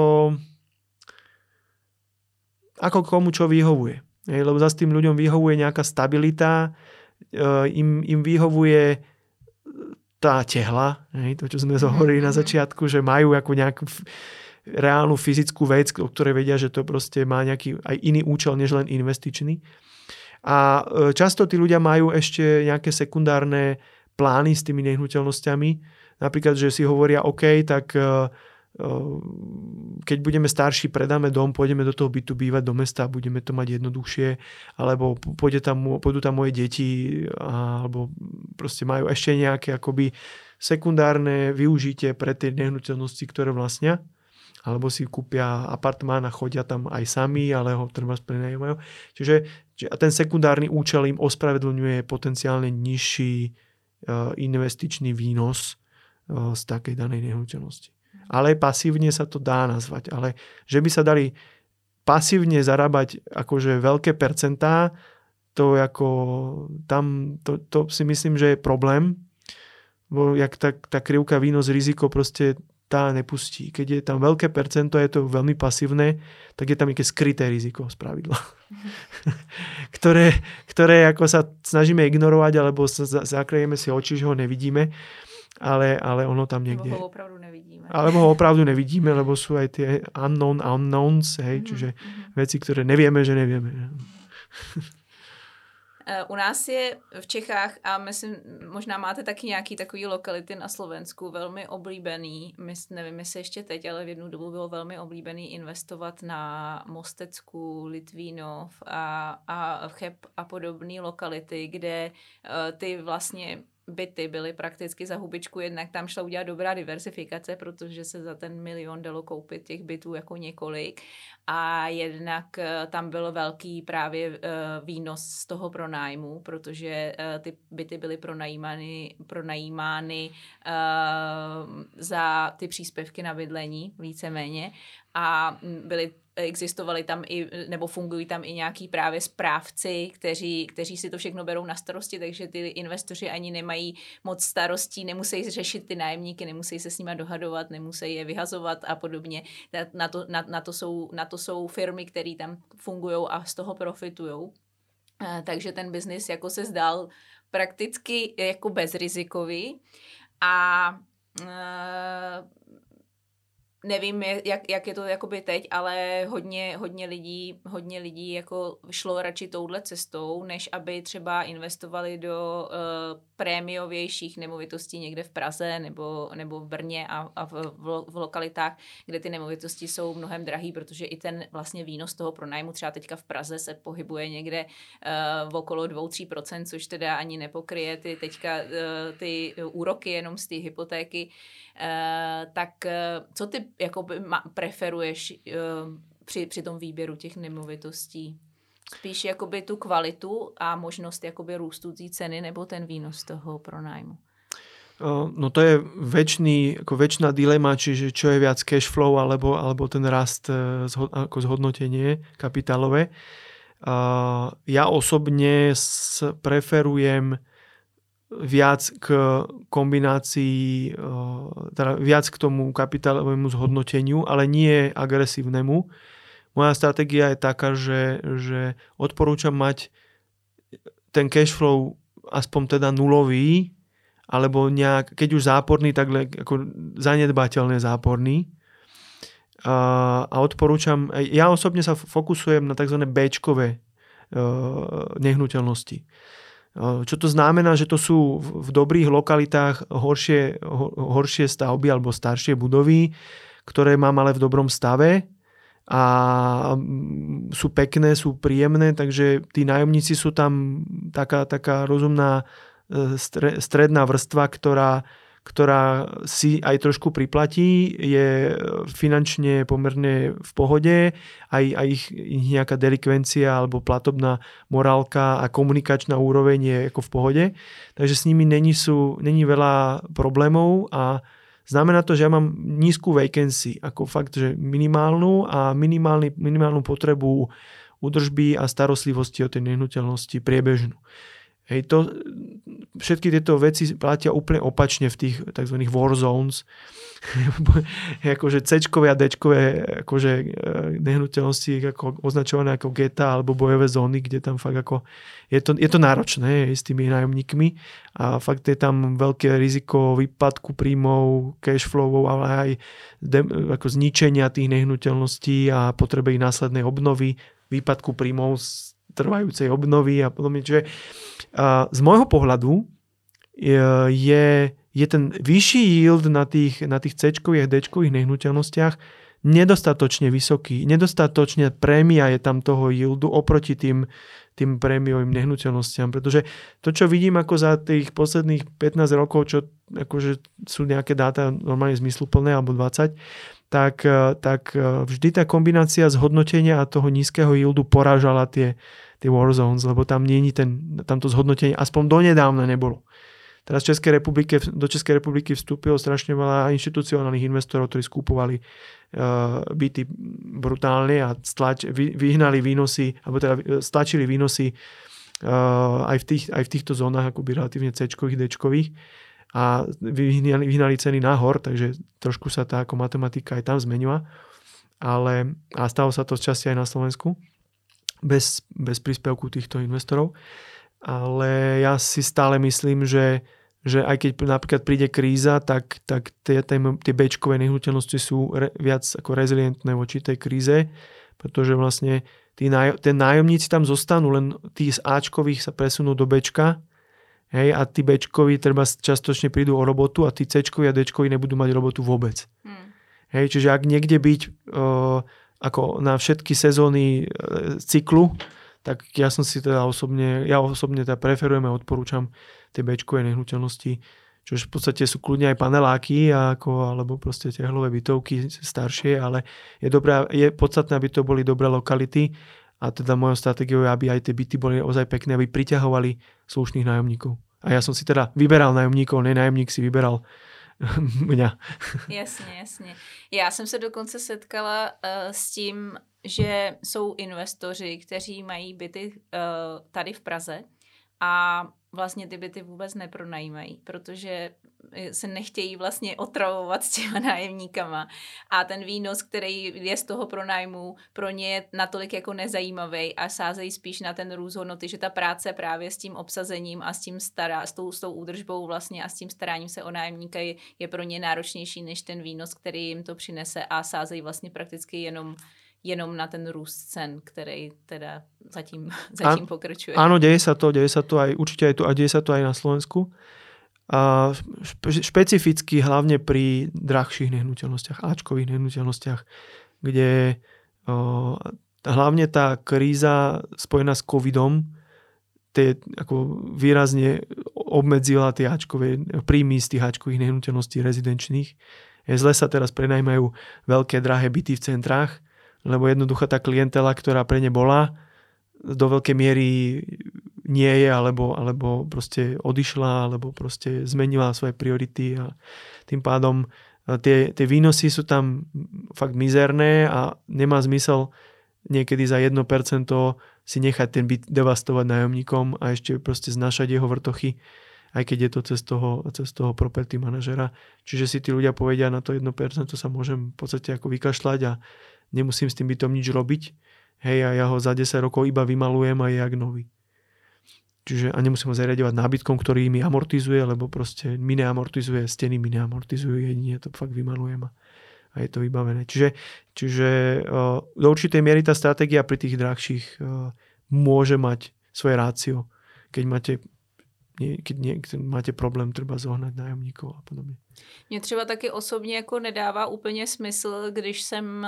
ako komu čo vyhovuje. Lebo zase tým ľuďom vyhovuje nejaká stabilita, im, im vyhovuje tá tehla, to, čo sme zohovorili na začiatku, že majú ako nejakú reálnu fyzickú vec, o ktorej vedia, že to proste má nejaký aj iný účel, než len investičný. A často tí ľudia majú ešte nejaké sekundárne plány s tými nehnuteľnosťami. Napríklad, že si hovoria, OK, tak keď budeme starší, predáme dom, pôjdeme do toho bytu bývať do mesta, budeme to mať jednoduchšie, alebo pôjde tam, pôjdu tam moje deti, alebo proste majú ešte nejaké akoby sekundárne využitie pre tie nehnuteľnosti, ktoré vlastnia, alebo si kúpia apartmán a chodia tam aj sami, ale ho treba prenajímajú. Čiže ten sekundárny účel im ospravedlňuje potenciálne nižší investičný výnos z takej danej nehnuteľnosti. Ale pasívne sa to dá nazvať. Ale že by sa dali pasívne zarábať akože veľké percentá, to ako tam, to, to si myslím, že je problém. Bo jak tá, tá krivka výnos riziko proste tá nepustí. Keď je tam veľké percento, je to veľmi pasívne, tak je tam nejaké skryté riziko spravidla. ktoré, ktoré ako sa snažíme ignorovať, alebo sa zakrejeme si oči, že ho nevidíme, ale, ale ono tam niekde... Alebo ho opravdu nevidíme. Alebo ho opravdu nevidíme, lebo sú aj tie unknown unknowns, hej, mm-hmm. čiže veci, ktoré nevieme, že nevieme. U nás je v Čechách, a myslím, možná máte taky nějaký takový lokality na Slovensku, velmi oblíbený, myslím, nevím, jestli ještě teď, ale v jednu dobu bylo velmi oblíbený investovat na Mostecku, Litvínov a, a Cheb a podobné lokality, kde uh, ty vlastně byty byly prakticky za hubičku, jednak tam šla udělat dobrá diversifikace, protože se za ten milion dalo koupit těch bytů jako několik a jednak tam byl velký právě výnos z toho pronájmu, protože ty byty byly pronajímány, pronajímány za ty příspěvky na bydlení víceméně a byly existovaly tam i, nebo fungují tam i nějaký právě správci, kteří, kteří si to všechno berou na starosti, takže ty investoři ani nemají moc starostí, nemusí řešit ty nájemníky, nemusí se s nima dohadovat, nemusí je vyhazovat a podobně. Na to, na, na to, jsou, na to jsou firmy, které tam fungují a z toho profitujou. Takže ten biznis jako se zdál prakticky jako bezrizikový a nevím, jak, jak je to jakoby teď, ale hodně, hodně lidí, hodně lidí jako šlo radši touhle cestou, než aby třeba investovali do uh, prémiovějších nemovitostí někde v Praze nebo, nebo v Brně a, a v, v, v lokalitách, kde ty nemovitosti jsou mnohem drahý, protože i ten vlastně výnos toho pronájmu třeba teďka v Praze se pohybuje někde uh, v okolo dva až tři procenta, což teda ani nepokryje ty teďka uh, ty úroky jenom z té hypotéky. Uh, tak uh, co ty jakoby ma, preferuješ uh, při, při tom výběru těch nemovitostí? Spíš jakoby tu kvalitu a možnost jakoby růstu té ceny nebo ten výnos toho pronájmu? Uh, no to je väčší, ako väčšiná dilema, čiže čo je viac cash flow alebo, alebo ten rast uh, zho, ako zhodnotenie kapitálové. Uh, ja osobne s, preferujem viac k kombinácii, teda viac k tomu kapitálovému zhodnoteniu, ale nie agresívnemu. Moja stratégia je taká, že, že odporúčam mať ten cash flow aspoň teda nulový, alebo nejak, keď už záporný, tak ako zanedbateľne záporný. A, a odporúčam, ja osobne sa fokusujem na tzv. béčkové nehnuteľnosti. Čo to znamená, že to sú v dobrých lokalitách horšie, horšie stavby alebo staršie budovy, ktoré mám ale v dobrom stave a sú pekné, sú príjemné, takže tí nájomníci sú tam taká, taká rozumná stredná vrstva, ktorá, ktorá si aj trošku priplatí, je finančne pomerne v pohode, aj, aj ich, ich nejaká delikvencia alebo platobná morálka a komunikačná úroveň je ako v pohode. Takže s nimi není, sú, není veľa problémov a znamená to, že ja mám nízku vacancy, ako fakt, že minimálnu a minimálny, minimálnu potrebu údržby a starostlivosti o tej nehnuteľnosti priebežnú. Hej, to, všetky tieto veci platia úplne opačne v tých tzv. War zones. akože C-čkové a D-čkové akože nehnuteľnosti ako označované ako geta alebo bojové zóny, kde tam fakt ako je to, je to náročné s tými nájomníkmi a fakt je tam veľké riziko výpadku príjmov, cash flowov, ale aj de, ako zničenia tých nehnuteľností a potreby ich následnej obnovy, výpadku príjmov z trvajúcej obnovy a podobne. Čiže uh, z môjho pohľadu je, je ten vyšší yield na tých, na tých C-čkových a D-čkových nehnuteľnostiach nedostatočne vysoký. Nedostatočne prémia je tam toho yieldu oproti tým, tým prémiovým nehnuteľnostiam. Pretože to, čo vidím ako za tých posledných pätnásť rokov, čo akože sú nejaké dáta normálne zmysluplné, alebo dvadsať, tak, tak vždy tá kombinácia zhodnotenia a toho nízkeho yieldu porážala tie, tie war zones, lebo tam nie je ten, tamto zhodnotenie, aspoň donedávna nebolo. Teraz v Českej republike, do Českej republiky vstúpilo strašne veľa inštitucionálnych investorov, ktorí skúpovali uh, byty brutálne a stlač, vy, vyhnali výnosy, alebo teda stlačili výnosy uh, aj, v tých, aj v týchto zónach akoby relatívne C-čkových, D-čkových. a vyhnali, vyhnali ceny nahor, takže trošku sa tá ako matematika aj tam zmenila. Ale, a stalo sa to z časti aj na Slovensku, bez, bez príspevku týchto investorov. Ale ja si stále myslím, že, že aj keď napríklad príde kríza, tak, tak tie, tie béčkové nehnuteľnosti sú re, viac ako rezilientné voči tej kríze, pretože vlastne tí náj, tí nájomníci tam zostanú, len tí z Ačkových sa presunú do Bčka, hej, a tí Bčkoví treba častočne prídu o robotu a tí Cčkoví a Dčkoví nebudú mať robotu vôbec. Hmm. Hej, čiže ak niekde byť uh, ako na všetky sezóny uh, cyklu, tak ja som si teda osobne, ja osobne teda preferujem a odporúčam tie béčkové nehnuteľnosti, čo v podstate sú kľudne aj paneláky ako, alebo proste tehlové bytovky staršie, ale je dobré, je podstatné, aby to boli dobré lokality a teda mojou stratégiou je, aby aj tie byty boli ozaj pekné, aby priťahovali slušných nájomníkov. A ja som si teda vyberal nájomníkov, ne nájomník si vyberal mňa. Jasně, jasně. Já jsem se dokonce setkala uh, s tím, že jsou investoři, kteří mají byty uh, tady v Praze a vlastně ty byty vůbec nepronajímají, protože se nechtějí vlastně otravovat s těma nájemníkama a ten výnos, který je z toho pronájmu, pro ně je natolik jako nezajímavý a sázejí spíš na ten růst hodnoty, že ta práce právě s tím obsazením a s tím stará, s tou, s tou údržbou vlastně a s tím staráním se o nájemníka je, je pro ně náročnější než ten výnos, který jim to přinese a sázejí vlastně prakticky jenom jenom na ten růst cen, který teda zatím, zatím pokračuje. Áno, deje sa to, deje sa to aj, určite aj tu, a deje sa to aj na Slovensku. A špe, špecificky hlavne pri drahších nehnuteľnostiach, áčkových nehnuteľnostiach, kde o, hlavne tá kríza spojená s covidom tie, ako výrazne obmedzila tie áčkové príjmy z tých áčkových nehnuteľností rezidenčných. Zle sa teraz prenajmajú veľké drahé byty v centrách, lebo jednoducho tá klientela, ktorá pre ne bola, do veľkej miery nie je, alebo, alebo proste odišla, alebo proste zmenila svoje priority a tým pádom tie, tie výnosy sú tam fakt mizerné a nemá zmysel niekedy za jedno percento si nechať ten byt devastovať nájomníkom a ešte proste znašať jeho vrtochy, aj keď je to cez toho, cez toho property manažera. Čiže si tí ľudia povedia, na to jedno percento sa môžem v podstate ako vykašľať a nemusím s tým bytom nič robiť. Hej, a ja ho za desať rokov iba vymalujem a je jak nový. Čiže a nemusím ho zariadovať nábytkom, ktorý mi amortizuje, lebo proste mi neamortizuje, steny mi neamortizujú, jedine to fakt vymalujem a, a je to vybavené. Čiže, čiže uh, do určitej miery tá stratégia pri tých drahších uh, môže mať svoje rácio, keď máte keď, nie, keď máte problém třeba zohnat nájomníkov a podobně. Mně třeba taky osobně jako nedává úplně smysl, když jsem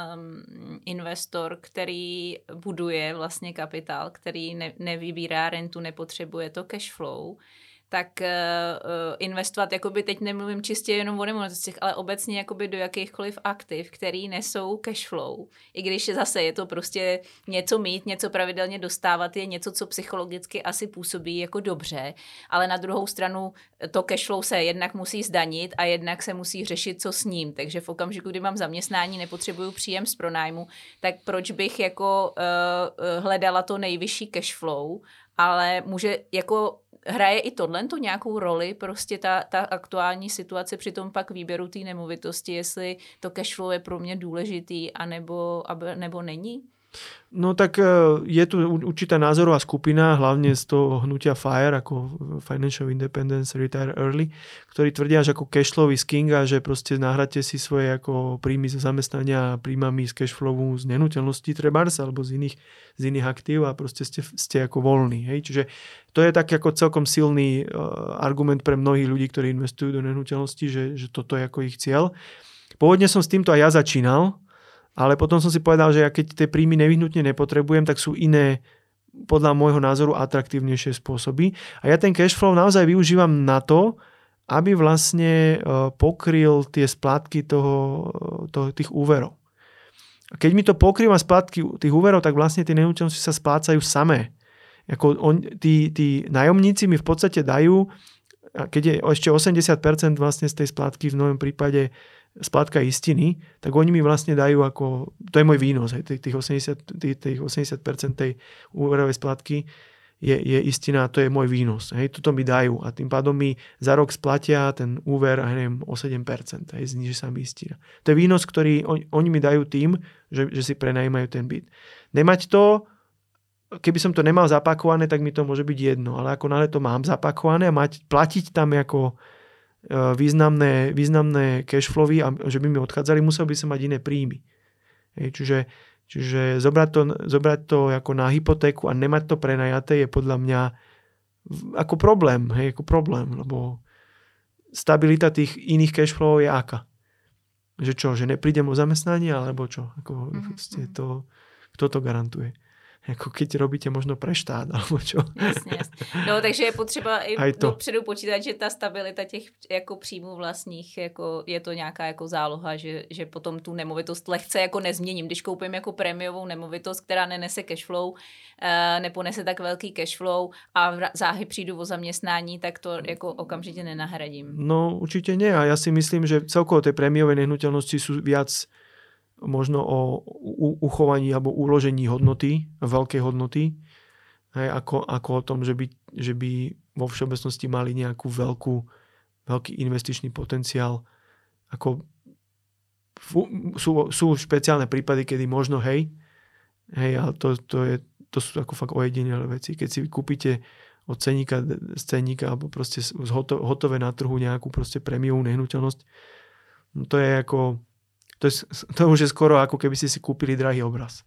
um, investor, který buduje vlastně kapitál, který ne, nevybírá rentu, nepotřebuje to cash flow, tak uh, investovat, jakoby teď nemluvím čistě jenom o nemovitostech, ale obecně jakoby do jakýchkoliv aktiv, který nesou cash flow. I když zase je to prostě něco mít, něco pravidelně dostávat, je něco, co psychologicky asi působí jako dobře, ale na druhou stranu to cash flow se jednak musí zdanit a jednak se musí řešit, co s ním. Takže v okamžiku, kdy mám zaměstnání, nepotřebuju příjem z pronájmu, tak proč bych jako uh, hledala to nejvyšší cash flow, ale může jako hraje i tohle to nějakou roli, prostě ta, ta aktuální situace při tom pak výběru té nemovitosti, jestli to cashflow je pro mě důležitý, anebo, nebo není? No tak je tu určitá názorová skupina, hlavne z toho hnutia FIRE, ako Financial Independence Retire Early, ktorí tvrdia, že ako cashflow is king a že proste nahráte si svoje ako príjmy zo zamestnania príjmami z cashflowu z nehnuteľností trebárs alebo z iných, z iných aktív a proste ste, ste ako voľní. Hej? Čiže to je tak ako celkom silný uh, argument pre mnohých ľudí, ktorí investujú do nehnuteľností, že, že toto je ako ich cieľ. Pôvodne som s týmto aj ja začínal, ale potom som si povedal, že ja keď tie príjmy nevyhnutne nepotrebujem, tak sú iné, podľa môjho názoru, atraktívnejšie spôsoby. A ja ten cashflow naozaj využívam na to, aby vlastne pokryl tie splátky toho, toho, tých úverov. A keď mi to pokrýva splátky tých úverov, tak vlastne tie nehnuteľnosti sa splácajú samé. Ako on, tí, tí nájomníci mi v podstate dajú, keď je ešte osemdesiat percent vlastne z tej splátky v mojom prípade splátka istiny, tak oni mi vlastne dajú ako, to je môj výnos, hej, tých, osemdesiat, tých, tých osemdesiat percent tej úverovej splátky je, je istina, to je môj výnos. Hej, toto mi dajú a tým pádom mi za rok splatia ten úver, neviem, o sedem percent. Hej, zniží sa mi istina. To je výnos, ktorý on, oni mi dajú tým, že, že si prenajímajú ten byt. Nemať to, keby som to nemal zapakované, tak mi to môže byť jedno, ale ako náhle to mám zapakované a mať, platiť tam ako významné, významné cashflowy a že by mi odchádzali, musel by som mať iné príjmy. Hej, čiže Čiže zobrať to, zobrať to ako na hypotéku a nemať to prenajaté je podľa mňa ako problém, hej, ako problém, lebo stabilita tých iných cashflowov je aká? Že čo, že neprídem o zamestnanie, alebo čo? Ako, mm-hmm. to, kto to garantuje? Jako keď robíte možno pre štát, alebo čo. Jasně, jasně. No, takže je potřeba i dopředu počítat, že ta stabilita těch jako příjmů vlastních, jako je to nějaká jako záloha, že, že potom tu nemovitost lehce jako nezměním. Když koupím jako prémiovou nemovitost, která nenese cashflow, neponese tak velký cashflow a záhy přijdu o zaměstnání, tak to jako okamžitě nenahradím. No, určitě ne. A já si myslím, že celkovo tie prémiové nehnuteľnosti sú viac možno o uchovaní alebo uložení hodnoty, veľkej hodnoty, hej, ako, ako o tom, že by, že by vo všeobecnosti mali nejakú veľkú, veľký investičný potenciál. Ako, sú, sú špeciálne prípady, kedy možno hej, hej, ale to, to, je, to sú ako fakt ojedinelé veci. Keď si kúpite od ceníka, z ceníka alebo proste hotové na trhu nejakú proste prémiovú nehnuteľnosť, no to je ako To, je, to už je skoro ako keby ste si kúpili drahý obraz.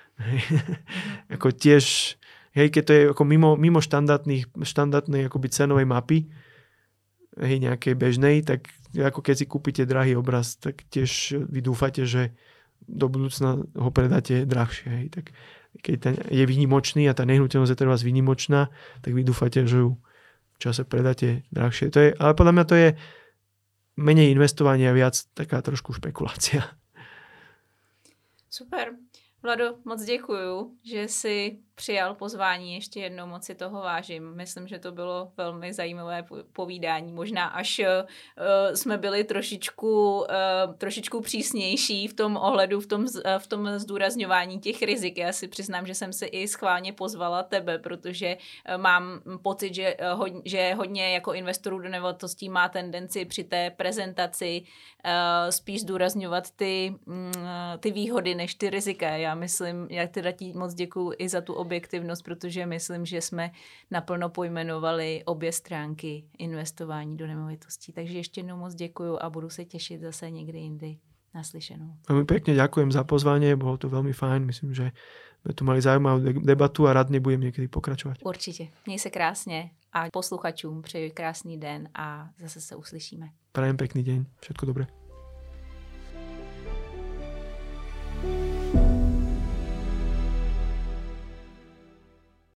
Ako tiež, hej, keď to je ako mimo, mimo štandardných, štandardnej akoby cenovej mapy, hej, nejakej bežnej, tak ako keď si kúpite drahý obraz, tak tiež vy dúfate, že do budúcna ho predáte drahšie. Hej. Tak keď ten je výnimočný a tá nehnuteľnosť je teraz výnimočná, tak vy dúfate, že ju v čase predáte drahšie. To je, ale podľa mňa to je menej investovania, viac taká trošku špekulácia. Super. Vlado, moc děkuju, že jsi přijal pozvání, ještě jednou moc si toho vážím. Myslím, že to bylo velmi zajímavé povídání. Možná až uh, jsme byli trošičku, uh, trošičku přísnější v tom ohledu, v tom, v tom zdůrazňování těch rizik. Já si přiznám, že jsem si i schválně pozvala tebe, protože uh, mám pocit, že, uh, hodně, že hodně jako investorů do nemovitostí má tendenci při té prezentaci uh, spíš zdůrazňovat ty, uh, ty výhody než ty rizika. Já myslím, já teda ti moc děkuju i za tu objektivnost, protože myslím, že jsme naplno pojmenovali obě stránky investování do nemovitostí. Takže ještě jednou moc děkuju a budu se těšit zase někdy jindy naslyšenou. Veľmi pekne ďakujem za pozvanie, bolo to veľmi fajn. Myslím, že sme tu mali zaujímavú debatu a rád nebudem niekedy pokračovať. Určitě. Měj se krásně a posluchačům přeji krásný den a zase se uslyšíme. Prajem pekný deň. Všetko dobré.